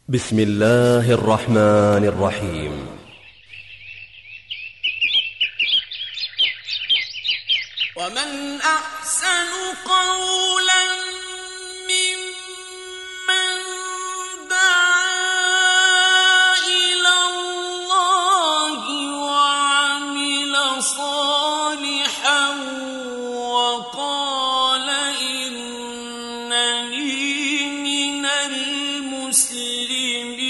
بسم الله الرحمن الرحيم ومن أحسن قولا ممن دعا إلى الله وعمل صالحا وقال إنني من المسلمين.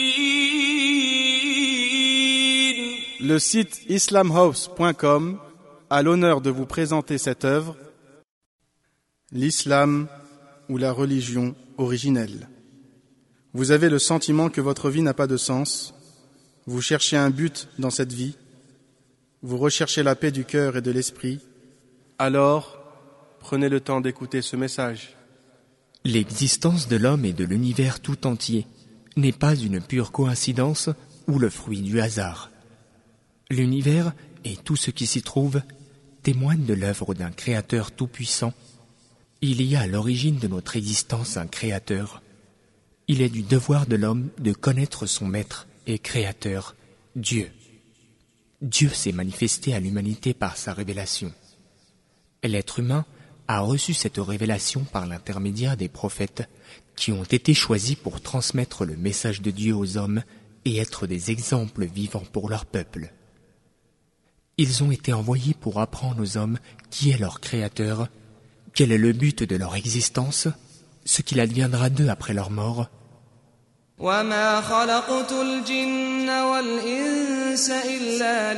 Le site islamhouse.com a l'honneur de vous présenter cette œuvre, l'islam ou la religion originelle. Vous avez le sentiment que votre vie n'a pas de sens, vous cherchez un but dans cette vie, vous recherchez la paix du cœur et de l'esprit, alors prenez le temps d'écouter ce message. L'existence de l'homme et de l'univers tout entier n'est pas une pure coïncidence ou le fruit du hasard. L'univers et tout ce qui s'y trouve témoignent de l'œuvre d'un Créateur tout-puissant. Il y a à l'origine de notre existence un Créateur. Il est du devoir de l'homme de connaître son Maître et Créateur, Dieu. Dieu s'est manifesté à l'humanité par sa révélation. L'être humain a reçu cette révélation par l'intermédiaire des prophètes qui ont été choisis pour transmettre le message de Dieu aux hommes et être des exemples vivants pour leur peuple. Ils ont été envoyés pour apprendre aux hommes qui est leur Créateur, quel est le but de leur existence, ce qu'il adviendra d'eux après leur mort. وما خلقت الجن والإنس إلا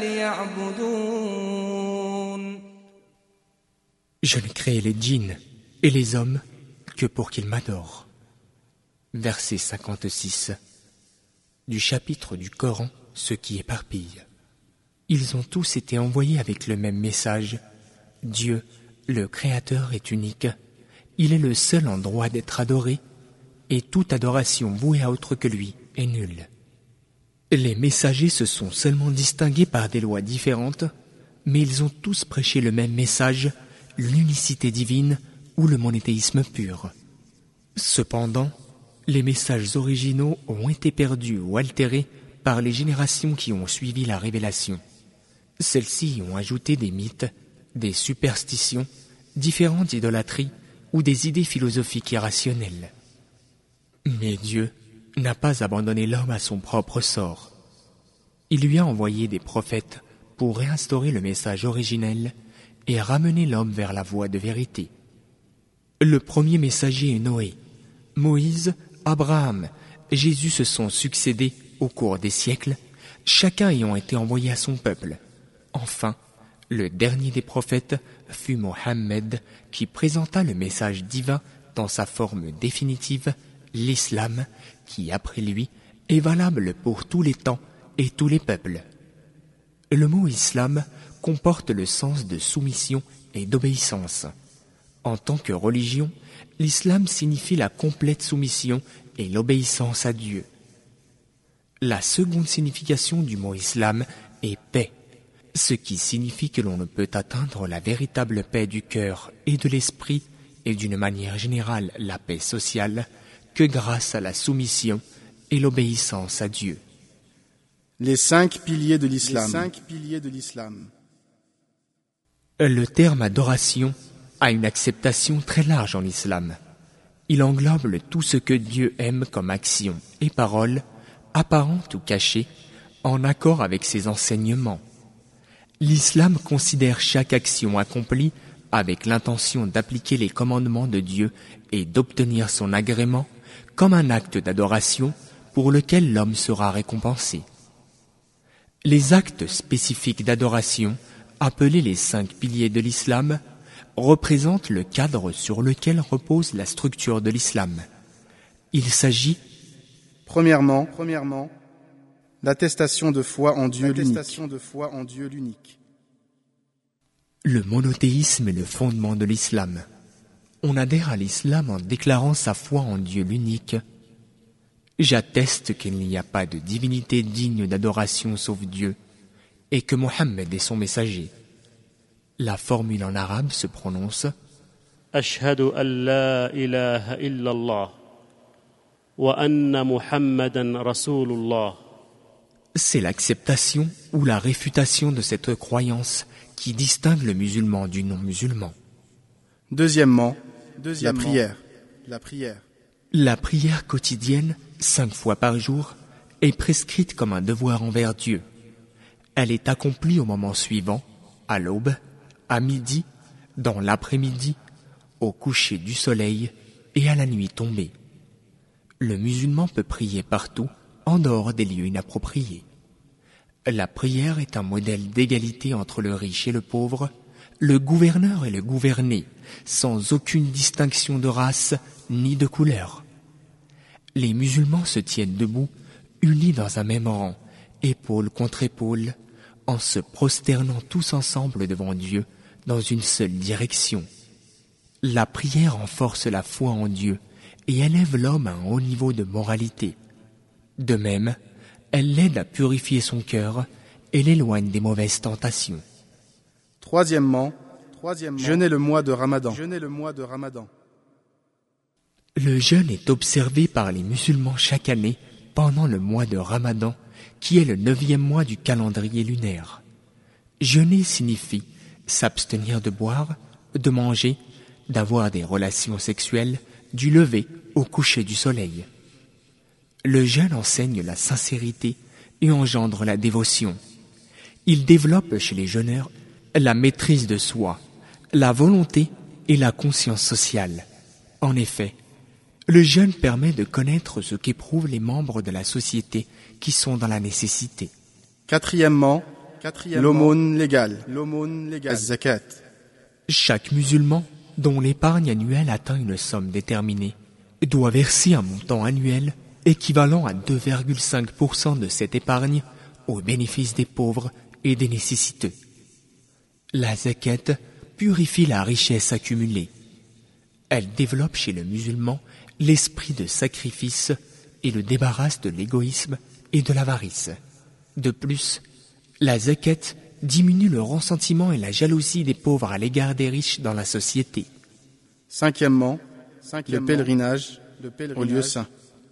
ليعبدون. Je ne crée les djinns et les hommes que pour qu'ils m'adorent. Verset 56 du chapitre du Coran, ce qui éparpille. Ils ont tous été envoyés avec le même message. Dieu, le Créateur, est unique. Il est le seul en droit d'être adoré, et toute adoration vouée à autre que lui est nulle. Les messagers se sont seulement distingués par des lois différentes, mais ils ont tous prêché le même message, l'unicité divine ou le monothéisme pur. Cependant, les messages originaux ont été perdus ou altérés par les générations qui ont suivi la révélation. Celles-ci y ont ajouté des mythes, des superstitions, différentes idolâtries ou des idées philosophiques irrationnelles. Mais Dieu n'a pas abandonné l'homme à son propre sort. Il lui a envoyé des prophètes pour réinstaurer le message originel et ramener l'homme vers la voie de vérité. Le premier messager est Noé. Moïse, Abraham, Jésus se sont succédés au cours des siècles, chacun ayant été envoyé à son peuple. Enfin, le dernier des prophètes fut Mohammed, qui présenta le message divin dans sa forme définitive, l'islam, qui après lui est valable pour tous les temps et tous les peuples. Le mot islam comporte le sens de soumission et d'obéissance. En tant que religion, l'islam signifie la complète soumission et l'obéissance à Dieu. La seconde signification du mot islam est paix, ce qui signifie que l'on ne peut atteindre la véritable paix du cœur et de l'esprit et d'une manière générale la paix sociale que grâce à la soumission et l'obéissance à Dieu. Les 5 piliers de l'islam. Le terme adoration a une acceptation très large en islam. Il englobe tout ce que Dieu aime comme action et parole, apparente ou cachée, en accord avec ses enseignements. L'islam considère chaque action accomplie avec l'intention d'appliquer les commandements de Dieu et d'obtenir son agrément comme un acte d'adoration pour lequel l'homme sera récompensé. Les actes spécifiques d'adoration, appelés les 5 piliers de l'islam, représentent le cadre sur lequel repose la structure de l'islam. Il s'agit, Premièrement, l'attestation de foi en Dieu l'unique. Le monothéisme est le fondement de l'islam. On adhère à l'islam en déclarant sa foi en Dieu l'unique. J'atteste qu'il n'y a pas de divinité digne d'adoration sauf Dieu, et que Mohammed est son messager. La formule en arabe se prononce أشهد أن لا إله إلا الله وأن محمدًا رسول الله. C'est l'acceptation ou la réfutation de cette croyance qui distingue le musulman du non-musulman. Deuxièmement, la prière. La prière quotidienne, 5 fois par jour, est prescrite comme un devoir envers Dieu. Elle est accomplie au moment suivant, à l'aube, à midi, dans l'après-midi, au coucher du soleil et à la nuit tombée. Le musulman peut prier partout, en dehors des lieux inappropriés. La prière est un modèle d'égalité entre le riche et le pauvre, le gouverneur et le gouverné, sans aucune distinction de race ni de couleur. Les musulmans se tiennent debout, unis dans un même rang, épaule contre épaule, en se prosternant tous ensemble devant Dieu dans une seule direction. La prière renforce la foi en Dieu et élève l'homme à un haut niveau de moralité. De même, elle l'aide à purifier son cœur et l'éloigne des mauvaises tentations. Troisièmement, jeûner le mois de Ramadan. Le jeûne est observé par les musulmans chaque année pendant le mois de Ramadan, qui est le 9e mois du calendrier lunaire. Jeûner signifie s'abstenir de boire, de manger, d'avoir des relations sexuelles, du lever au coucher du soleil. Le jeûne enseigne la sincérité et engendre la dévotion. Il développe chez les jeûneurs la maîtrise de soi, la volonté et la conscience sociale. En effet, le jeûne permet de connaître ce qu'éprouvent les membres de la société qui sont dans la nécessité. Quatrièmement, l'aumône légale, az-zakat. Chaque musulman, dont l'épargne annuelle atteint une somme déterminée, doit verser un montant annuel équivalent à 2,5% de cette épargne au bénéfice des pauvres et des nécessiteux. La zakat purifie la richesse accumulée. Elle développe chez le musulman l'esprit de sacrifice et le débarrasse de l'égoïsme et de l'avarice. De plus, la zakat diminue le ressentiment et la jalousie des pauvres à l'égard des riches dans la société. Cinquièmement, le pèlerinage au lieu saint.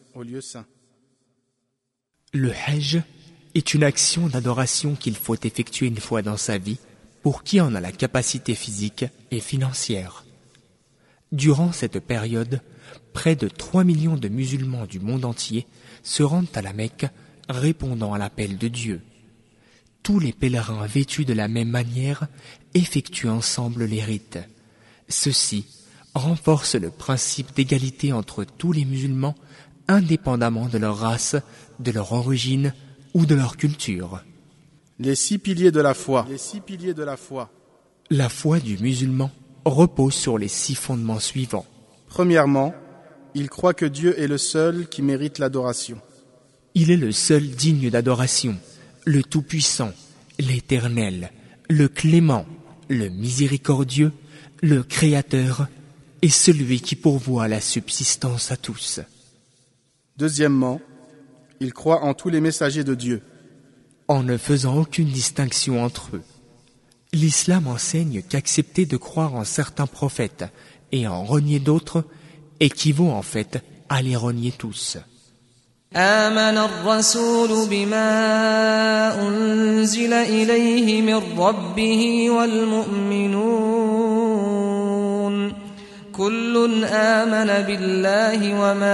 Le hajj est une action d'adoration qu'il faut effectuer une fois dans sa vie pour qui en a la capacité physique et financière. Durant cette période, près de 3 millions de musulmans du monde entier se rendent à la Mecque, répondant à l'appel de Dieu. Tous les pèlerins vêtus de la même manière effectuent ensemble les rites. Ceci renforce le principe d'égalité entre tous les musulmans, indépendamment de leur race, de leur origine ou de leur culture. Les 6 piliers de la foi. La foi du musulman repose sur les 6 fondements suivants. Premièrement, il croit que Dieu est le seul qui mérite l'adoration. Il est le seul digne d'adoration, le Tout-Puissant, l'Éternel, le Clément, le Miséricordieux, le Créateur et celui qui pourvoit la subsistance à tous. Deuxièmement, il croit en tous les messagers de Dieu, en ne faisant aucune distinction entre eux. L'islam enseigne qu'accepter de croire en certains prophètes et en renier d'autres équivaut en fait à les renier tous. آمن الرسول بما أنزل إليه من ربه والمؤمنون كل آمن بالله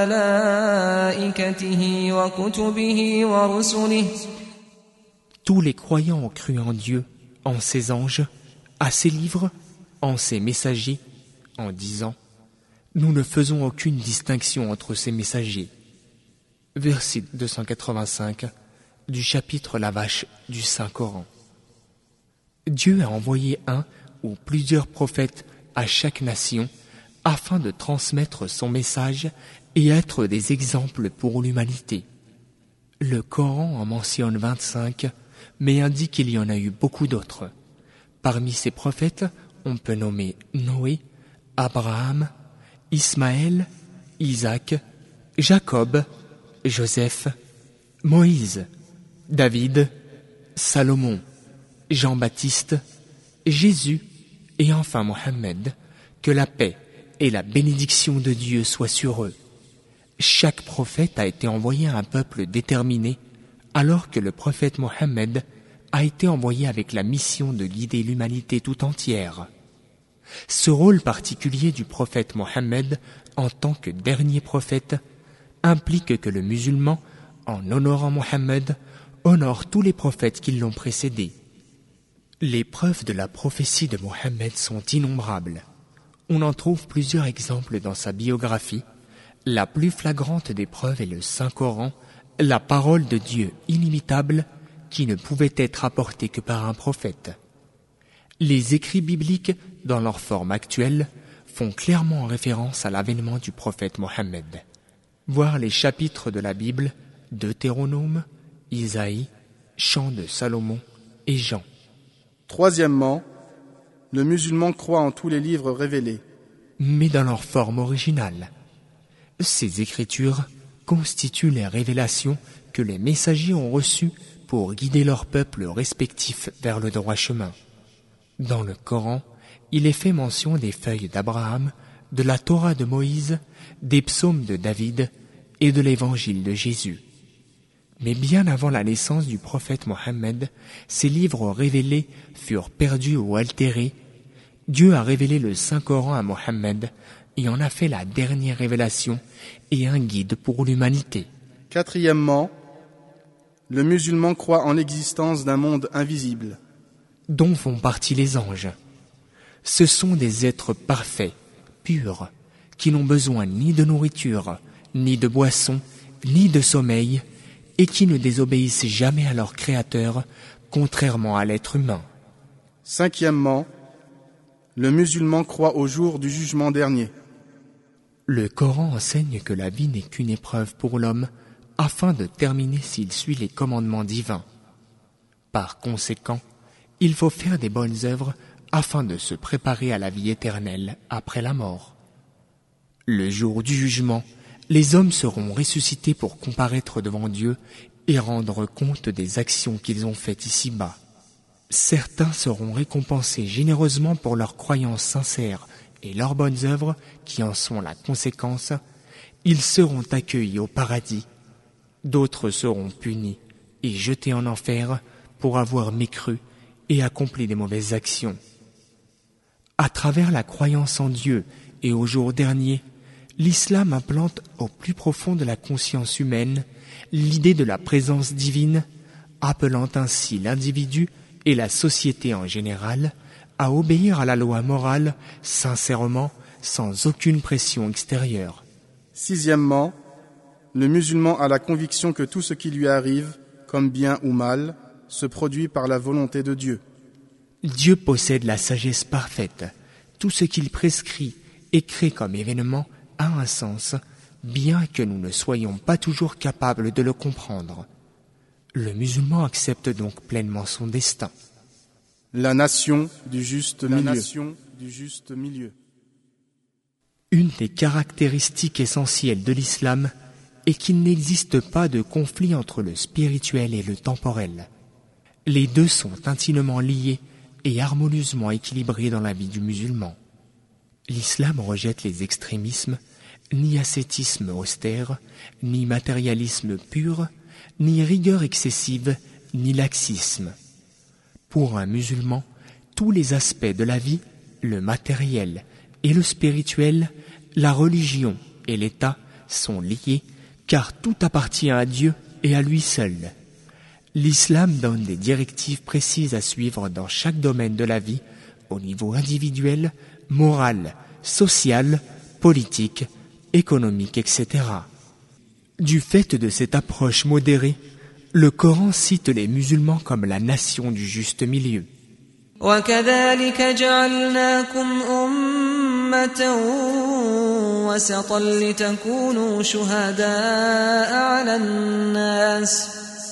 وملائكته وكتبه ورسله. Tous les croyants ont cru en Dieu, en ses anges, à ses livres, en ses messagers, en disant « Nous ne faisons aucune distinction entre ces messagers ». Verset 285 du chapitre La Vache du Saint-Coran. Dieu a envoyé un ou plusieurs prophètes à chaque nation afin de transmettre son message et être des exemples pour l'humanité. Le Coran en mentionne 25, mais indique qu'il y en a eu beaucoup d'autres. Parmi ces prophètes, on peut nommer Noé, Abraham, Ismaël, Isaac, Jacob, Joseph, Moïse, David, Salomon, Jean-Baptiste, Jésus et enfin Mohammed, que la paix et la bénédiction de Dieu soient sur eux. Chaque prophète a été envoyé à un peuple déterminé, alors que le prophète Mohammed a été envoyé avec la mission de guider l'humanité tout entière. Ce rôle particulier du prophète Mohammed en tant que dernier prophète implique que le musulman, en honorant Mohammed, honore tous les prophètes qui l'ont précédé. Les preuves de la prophétie de Mohammed sont innombrables. On en trouve plusieurs exemples dans sa biographie. La plus flagrante des preuves est le Saint-Coran, la parole de Dieu inimitable qui ne pouvait être apportée que par un prophète. Les écrits bibliques, dans leur forme actuelle, font clairement référence à l'avènement du prophète Mohammed. Voir les chapitres de la Bible, Deutéronome, Isaïe, Chant de Salomon et Jean. Troisièmement, le musulman croit en tous les livres révélés, mais dans leur forme originale. Ces écritures constituent les révélations que les messagers ont reçues pour guider leurs peuples respectifs vers le droit chemin. Dans le Coran, il est fait mention des feuilles d'Abraham, de la Torah de Moïse, des psaumes de David et de l'évangile de Jésus. Mais bien avant la naissance du prophète Mohammed, ces livres révélés furent perdus ou altérés. Dieu a révélé le Saint-Coran à Mohammed et en a fait la dernière révélation et un guide pour l'humanité. Quatrièmement, le musulman croit en l'existence d'un monde invisible, dont font partie les anges. Ce sont des êtres parfaits, purs, qui n'ont besoin ni de nourriture, ni de boisson, ni de sommeil, et qui ne désobéissent jamais à leur Créateur, contrairement à l'être humain. Cinquièmement, le musulman croit au jour du jugement dernier. Le Coran enseigne que la vie n'est qu'une épreuve pour l'homme, afin de terminer s'il suit les commandements divins. Par conséquent, il faut faire des bonnes œuvres afin de se préparer à la vie éternelle après la mort. Le jour du jugement, les hommes seront ressuscités pour comparaître devant Dieu et rendre compte des actions qu'ils ont faites ici-bas. Certains seront récompensés généreusement pour leurs croyances sincères et leurs bonnes œuvres qui en sont la conséquence. Ils seront accueillis au paradis. D'autres seront punis et jetés en enfer pour avoir mécru et accompli des mauvaises actions. À travers la croyance en Dieu et au jour dernier, l'islam implante au plus profond de la conscience humaine l'idée de la présence divine, appelant ainsi l'individu et la société en général à obéir à la loi morale sincèrement, sans aucune pression extérieure. Sixièmement, le musulman a la conviction que tout ce qui lui arrive, comme bien ou mal, se produit par la volonté de Dieu. Dieu possède la sagesse parfaite. Tout ce qu'il prescrit et crée comme événement a un sens, bien que nous ne soyons pas toujours capables de le comprendre. Le musulman accepte donc pleinement son destin. La nation du juste milieu. Une des caractéristiques essentielles de l'islam est qu'il n'existe pas de conflit entre le spirituel et le temporel. Les deux sont intimement liés et harmonieusement équilibrés dans la vie du musulman. L'islam rejette les extrémismes, ni ascétisme austère, ni matérialisme pur, ni rigueur excessive, ni laxisme. Pour un musulman, tous les aspects de la vie, le matériel et le spirituel, la religion et l'État sont liés, car tout appartient à Dieu et à lui seul. L'islam donne des directives précises à suivre dans chaque domaine de la vie, au niveau individuel, moral, social, politique, économique, etc. Du fait de cette approche modérée, le Coran cite les musulmans comme la nation du juste milieu. وكذلك جعلناكم أمة وسطا لتكونوا شهداء على الناس.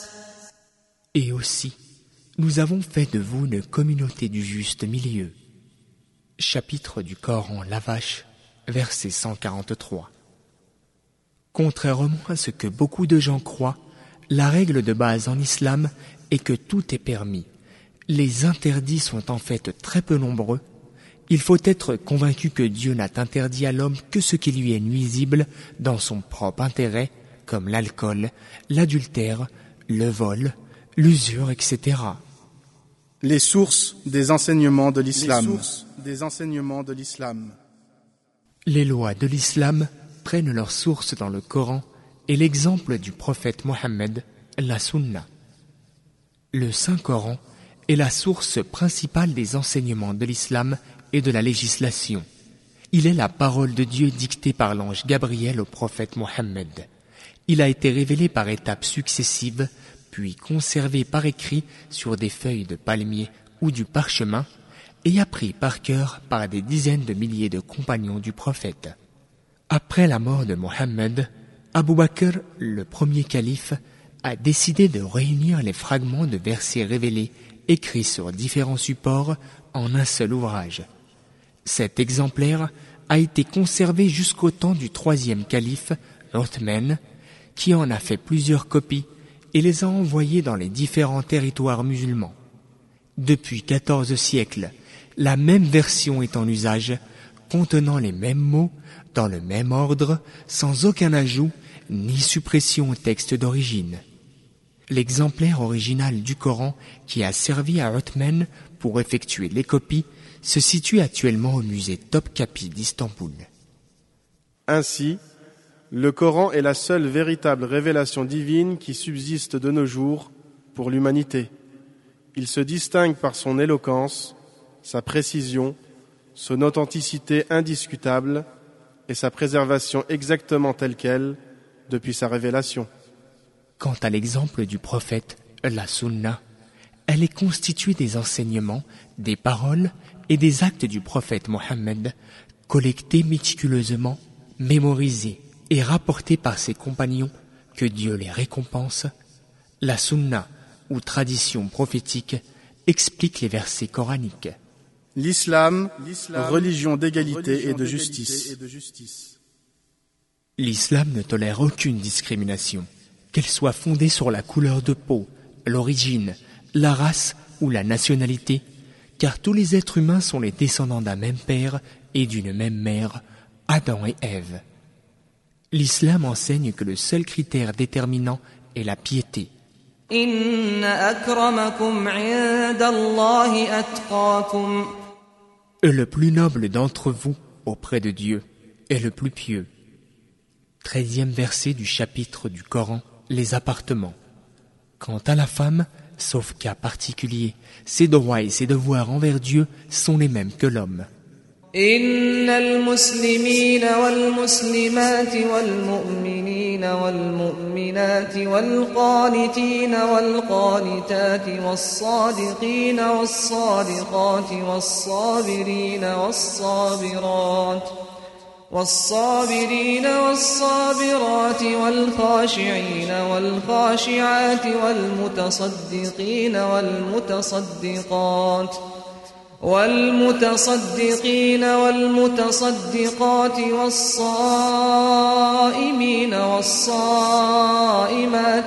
Et aussi, nous avons fait de vous une communauté du juste milieu. Chapitre du Coran La Vache, verset 143. Contrairement à ce que beaucoup de gens croient, la règle de base en islam est que tout est permis. Les interdits sont en fait très peu nombreux, Il faut être convaincu que Dieu n'a interdit à l'homme que ce qui lui est nuisible dans son propre intérêt, comme l'alcool, l'adultère, le vol, l'usure, etc. Les sources des enseignements de l'islam. Les lois de l'islam prennent leur source dans le Coran et l'exemple du prophète Mohammed, la Sunna. Le Saint-Coran est la source principale des enseignements de l'islam et de la législation. Il est la parole de Dieu dictée par l'ange Gabriel au prophète Mohammed. Il a été révélé par étapes successives, puis conservé par écrit sur des feuilles de palmier ou du parchemin, et appris par cœur par des dizaines de milliers de compagnons du prophète. Après la mort de Mohammed, Abu Bakr, le premier calife, a décidé de réunir les fragments de versets révélés écrits sur différents supports en un seul ouvrage. Cet exemplaire a été conservé jusqu'au temps du troisième calife, Uthman, qui en a fait plusieurs copies et les a envoyées dans les différents territoires musulmans. Depuis 14 siècles, la même version est en usage, contenant les mêmes mots, dans le même ordre, sans aucun ajout ni suppression au texte d'origine. L'exemplaire original du Coran qui a servi à Uthman pour effectuer les copies se situe actuellement au musée Topkapi d'Istanbul. Ainsi, le Coran est la seule véritable révélation divine qui subsiste de nos jours pour l'humanité. Il se distingue par son éloquence, sa précision, son authenticité indiscutable et sa préservation exactement telle qu'elle depuis sa révélation. Quant à l'exemple du prophète, la Sunna, elle est constituée des enseignements, des paroles et des actes du prophète Mohammed, collectés méticuleusement, mémorisés et rapportés par ses compagnons, que Dieu les récompense. La Sunna, ou tradition prophétique, explique les versets coraniques. L'islam, religion d'égalité et de justice. L'islam ne tolère aucune discrimination, qu'elle soit fondée sur la couleur de peau, l'origine, la race ou la nationalité, car tous les êtres humains sont les descendants d'un même père et d'une même mère, Adam et Ève. L'islam enseigne que le seul critère déterminant est la piété. Le plus noble d'entre vous auprès de Dieu est le plus pieux. 13e verset du chapitre du Coran, les appartements. Quant à la femme, sauf cas particulier, ses droits et ses devoirs envers Dieu sont les mêmes que l'homme. إن المسلمين والمسلمات والمؤمنين والمؤمنات والقانتين والقانتات والصادقين والصادقات والصابرين والصابرات والخاشعين والخاشعات والمتصدقين والمتصدقات والصائمين والصائمات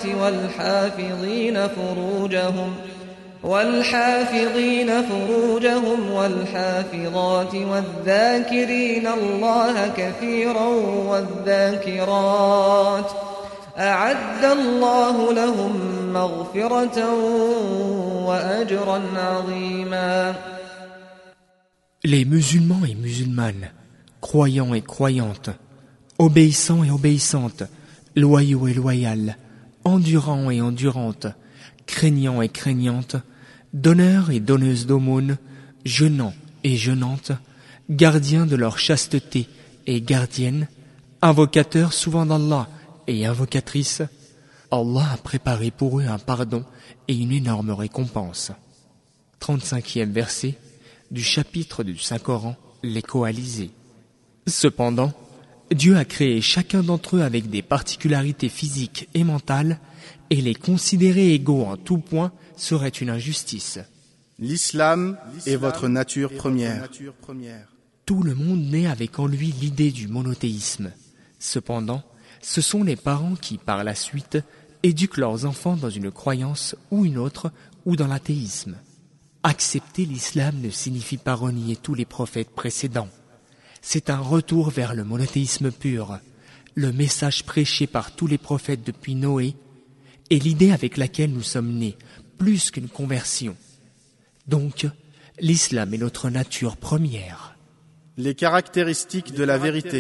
والحافظين فروجهم والحافظات والذاكرين الله كثيرا والذاكرات أعد الله لهم مغفرة وأجرا عظيما. Les musulmans et musulmanes, croyants et croyantes, obéissants et obéissantes, loyaux et loyales, endurants et endurantes, craignants et craignantes, donneurs et donneuses d'aumônes, jeûnants et jeûnantes, gardiens de leur chasteté et gardiennes, invocateurs souvent d'Allah et invocatrices, Allah a préparé pour eux un pardon et une énorme récompense. 35e verset du chapitre du Saint-Coran, les coalisés. Cependant, Dieu a créé chacun d'entre eux avec des particularités physiques et mentales, et les considérer égaux en tout point serait une injustice. L'islam est votre nature première. Tout le monde naît avec en lui l'idée du monothéisme. Cependant, ce sont les parents qui, par la suite, éduquent leurs enfants dans une croyance ou une autre, ou dans l'athéisme. Accepter l'islam ne signifie pas renier tous les prophètes précédents. C'est un retour vers le monothéisme pur, le message prêché par tous les prophètes depuis Noé, et l'idée avec laquelle nous sommes nés, plus qu'une conversion. Donc, l'islam est notre nature première. Les caractéristiques de la vérité.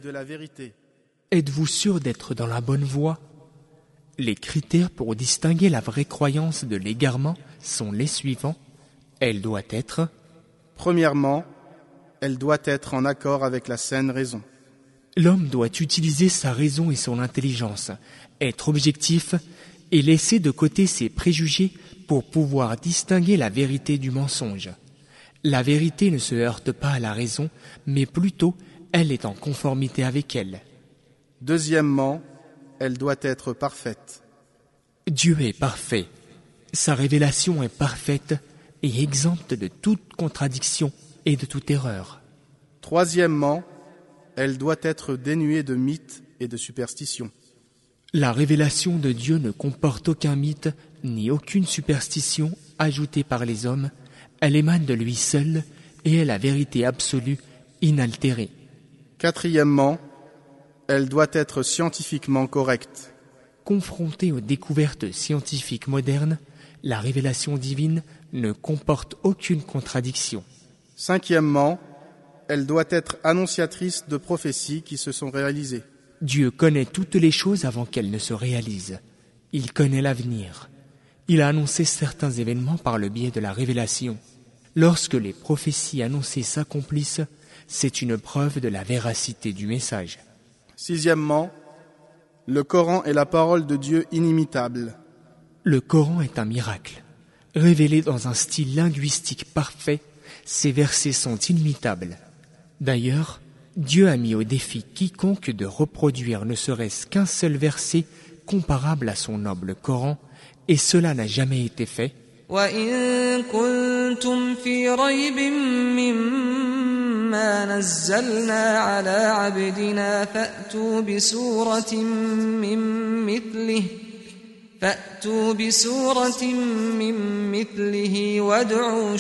Êtes-vous sûr d'être dans la bonne voie? Les critères pour distinguer la vraie croyance de l'égarement sont les suivants. Elle doit être: Premièrement, elle doit être en accord avec la saine raison. L'homme doit utiliser sa raison et son intelligence, être objectif et laisser de côté ses préjugés pour pouvoir distinguer la vérité du mensonge. La vérité ne se heurte pas à la raison, mais plutôt elle est en conformité avec elle. Deuxièmement, elle doit être parfaite. Dieu est parfait. Sa révélation est parfaite et exempte de toute contradiction et de toute erreur. Troisièmement, elle doit être dénuée de mythes et de superstitions. La révélation de Dieu ne comporte aucun mythe ni aucune superstition ajoutée par les hommes. Elle émane de lui seul et est la vérité absolue, inaltérée. Quatrièmement, elle doit être scientifiquement correcte. Confrontée aux découvertes scientifiques modernes, la révélation divine ne comporte aucune contradiction. Cinquièmement, elle doit être annonciatrice de prophéties qui se sont réalisées. Dieu connaît toutes les choses avant qu'elles ne se réalisent. Il connaît l'avenir. Il a annoncé certains événements par le biais de la révélation. Lorsque les prophéties annoncées s'accomplissent, c'est une preuve de la véracité du message. Sixièmement, le Coran est la parole de Dieu inimitable. Le Coran est un miracle. Révélé dans un style linguistique parfait, ses versets sont inimitables. D'ailleurs, Dieu a mis au défi quiconque de reproduire ne serait-ce qu'un seul verset comparable à son noble Coran, et cela n'a jamais été fait. وَإِن كُنتُمْ فِي رَيْبٍ مِّمَّا نَزَّلْنَا عَلَىٰ عَبْدِنَا فَأْتُوا بِسُورَةٍ مِّن مِّثْلِهِ وَادْعُوا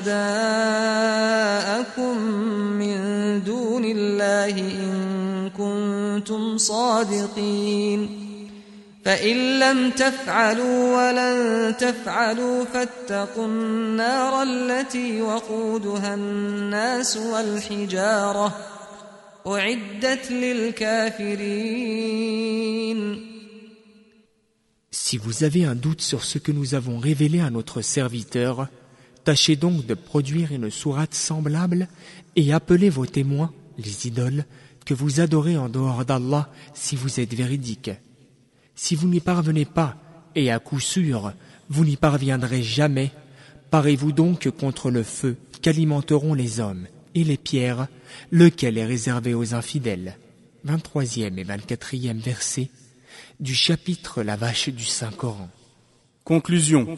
شُهَدَاءَكُم مِّن دُونِ اللَّهِ إِن كُنتُمْ صَادِقِينَ فَإِن لَّمْ تَفْعَلُوا وَلَن تَفْعَلُوا فَاتَّقُوا النَّارَ الَّتِي وَقُودُهَا النَّاسُ وَالْحِجَارَةُ أُعِدَّتْ لِلْكَافِرِينَ. Si vous avez un doute sur ce que nous avons révélé à notre serviteur, tâchez donc de produire une sourate semblable et appelez vos témoins, les idoles, que vous adorez en dehors d'Allah si vous êtes véridiques. Si vous n'y parvenez pas, et à coup sûr, vous n'y parviendrez jamais, parez-vous donc contre le feu qu'alimenteront les hommes et les pierres, lequel est réservé aux infidèles. 23e et 24e versets du chapitre La Vache du Saint-Coran. Conclusion.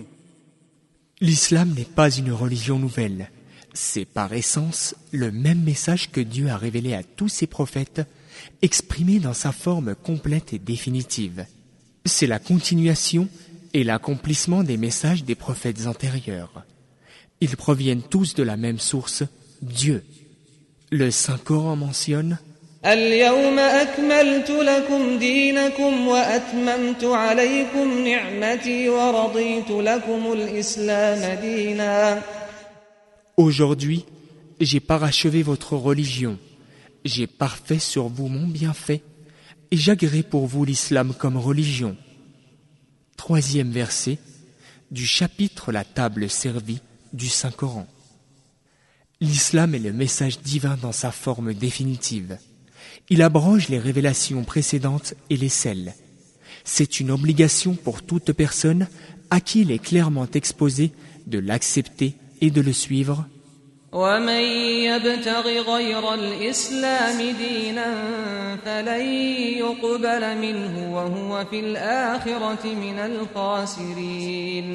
L'islam n'est pas une religion nouvelle. C'est par essence le même message que Dieu a révélé à tous ses prophètes, exprimé dans sa forme complète et définitive. C'est la continuation et l'accomplissement des messages des prophètes antérieurs. Ils proviennent tous de la même source, Dieu. Le Saint-Coran mentionne: اليوم أكملت لكم دينكم وأتممت عليكم نعمتي ورضيت لكم الإسلام دينا. Aujourd'hui, j'ai parachevé votre religion, j'ai parfait sur vous mon bienfait, et j'agrée pour vous l'islam comme religion. 3e verset du chapitre La table servie du Saint-Coran. L'islam est le message divin dans sa forme définitive. Il abroge les révélations précédentes et les scelle. C'est une obligation pour toute personne à qui il est clairement exposé de l'accepter et de le suivre. ومن يبتغ غير الإسلام دينا فلن يقبل منه وهو في الآخرة من الخاسرين.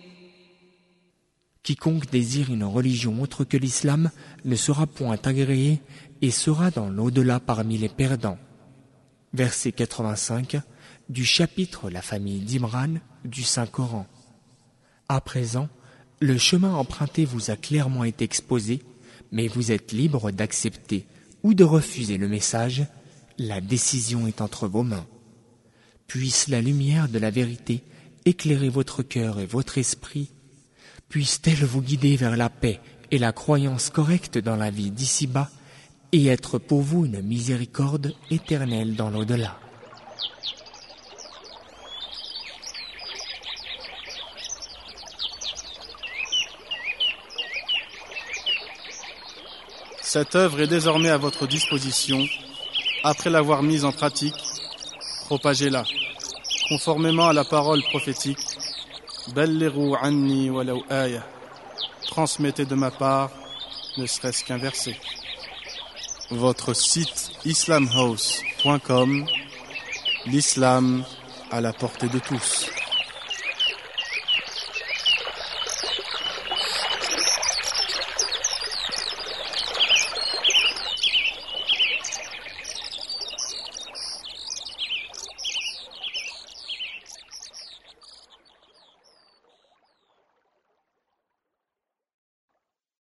Quiconque désire une religion autre que l'islam ne sera point agréé et sera dans l'au-delà parmi les perdants. Verset 85 du chapitre La famille d'Imran du Saint-Coran. À présent, Le chemin emprunté vous a clairement été exposé, mais vous êtes libre d'accepter ou de refuser le message. La décision est entre vos mains. Puisse la lumière de la vérité éclairer votre cœur et votre esprit. Puisse-t-elle vous guider vers la paix et la croyance correcte dans la vie d'ici-bas et être pour vous une miséricorde éternelle dans l'au-delà. Cette œuvre est désormais à votre disposition. Après l'avoir mise en pratique, propagez-la, conformément à la parole prophétique. Ballighu anni walau aya. Transmettez de ma part, ne serait-ce qu'un verset. Votre site islamhouse.com, l'islam à la portée de tous.